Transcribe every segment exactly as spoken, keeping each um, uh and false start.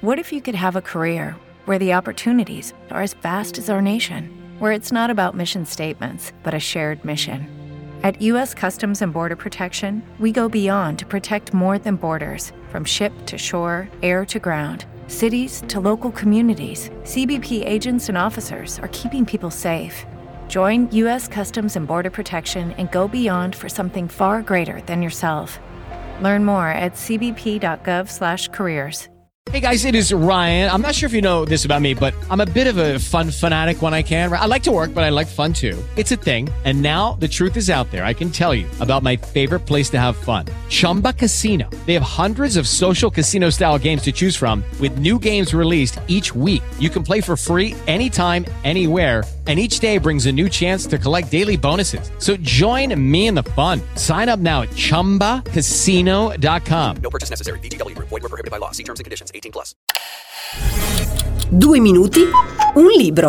What if you could have a career where the opportunities are as vast as our nation, where it's not about mission statements, but a shared mission? At U S Customs and Border Protection, we go beyond to protect more than borders. From ship to shore, air to ground, cities to local communities, C B P agents and officers are keeping people safe. Join U S Customs and Border Protection and go beyond for something far greater than yourself. Learn more at c b p dot gov slash careers. Hey guys, it is Ryan. I'm not sure if you know this about me, but I'm a bit of a fun fanatic when I can. I like to work, but I like fun too. It's a thing. And now the truth is out there. I can tell you about my favorite place to have fun. Chumba Casino. They have hundreds of social casino style games to choose from with new games released each week. You can play for free anytime, anywhere. And each day brings a new chance to collect daily bonuses. So join me in the fun. Sign up now at chumba casino dot com. No purchase necessary. V G W. Void where prohibited by law. See terms and conditions. eighteen plus. Due minuti, un libro.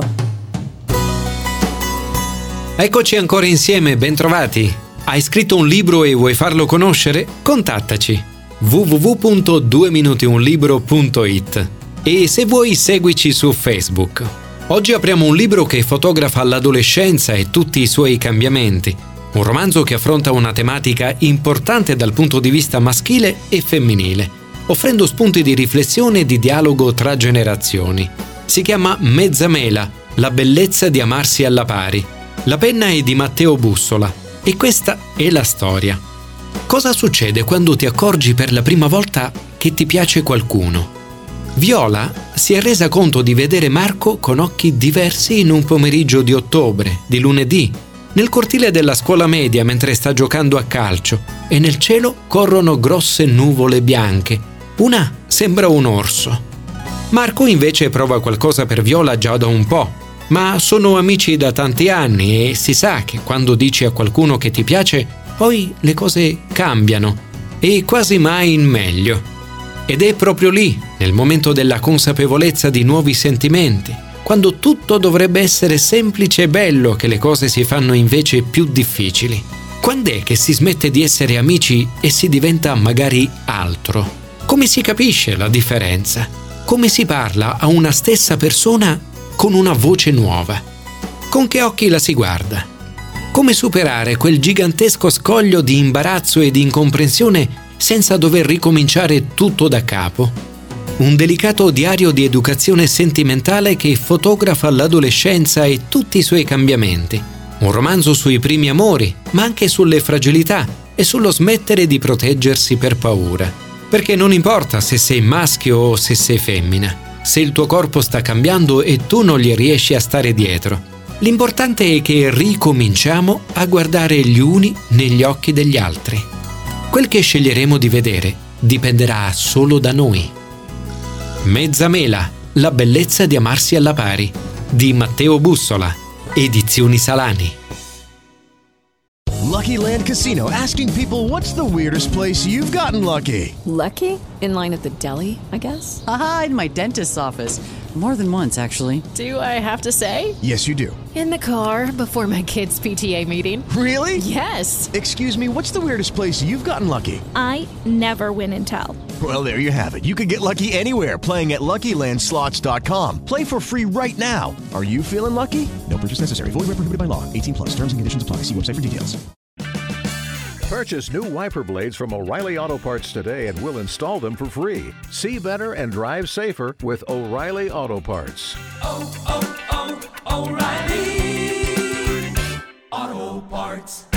Eccoci ancora insieme, bentrovati. Hai scritto un libro e vuoi farlo conoscere? Contattaci w w w punto due minuti un libro punto i t e se vuoi seguici su Facebook. Oggi apriamo un libro che fotografa l'adolescenza e tutti i suoi cambiamenti. Un romanzo che affronta una tematica importante dal punto di vista maschile e femminile, offrendo spunti di riflessione e di dialogo tra generazioni. Si chiama Mezzamela, la bellezza di amarsi alla pari. La penna è di Matteo Bussola e questa è la storia. Cosa succede quando ti accorgi per la prima volta che ti piace qualcuno? Viola si è resa conto di vedere Marco con occhi diversi in un pomeriggio di ottobre, di lunedì, nel cortile della scuola media mentre sta giocando a calcio e nel cielo corrono grosse nuvole bianche. Una sembra un orso. Marco invece prova qualcosa per Viola già da un po', ma sono amici da tanti anni e si sa che quando dici a qualcuno che ti piace, poi le cose cambiano e quasi mai in meglio. Ed è proprio lì, nel momento della consapevolezza di nuovi sentimenti, quando tutto dovrebbe essere semplice e bello, che le cose si fanno invece più difficili. Quand'è che si smette di essere amici e si diventa magari altro? Come si capisce la differenza? Come si parla a una stessa persona con una voce nuova? Con che occhi la si guarda? Come superare quel gigantesco scoglio di imbarazzo e di incomprensione senza dover ricominciare tutto da capo? Un delicato diario di educazione sentimentale che fotografa l'adolescenza e tutti i suoi cambiamenti. Un romanzo sui primi amori, ma anche sulle fragilità e sullo smettere di proteggersi per paura. Perché non importa se sei maschio o se sei femmina, se il tuo corpo sta cambiando e tu non gli riesci a stare dietro. L'importante è che ricominciamo a guardare gli uni negli occhi degli altri. Quel che sceglieremo di vedere dipenderà solo da noi. Mezzamela, la bellezza di amarsi alla pari, di Matteo Bussola, Edizioni Salani. Lucky Land Casino, asking people, what's the weirdest place you've gotten lucky? Lucky? In line at the deli, I guess? Aha, in my dentist's office. More than once, actually. Do I have to say? Yes, you do. In the car before my kids' P T A meeting. Really? Yes. Excuse me, what's the weirdest place you've gotten lucky? I never win and tell. Well, there you have it. You can get lucky anywhere, playing at lucky land slots dot com. Play for free right now. Are you feeling lucky? No purchase necessary. Void where prohibited by law. eighteen plus. Terms and conditions apply. See website for details. Purchase new wiper blades from O'Reilly Auto Parts today and we'll install them for free. See better and drive safer with O'Reilly Auto Parts. Oh, oh, oh, O'Reilly Auto Parts.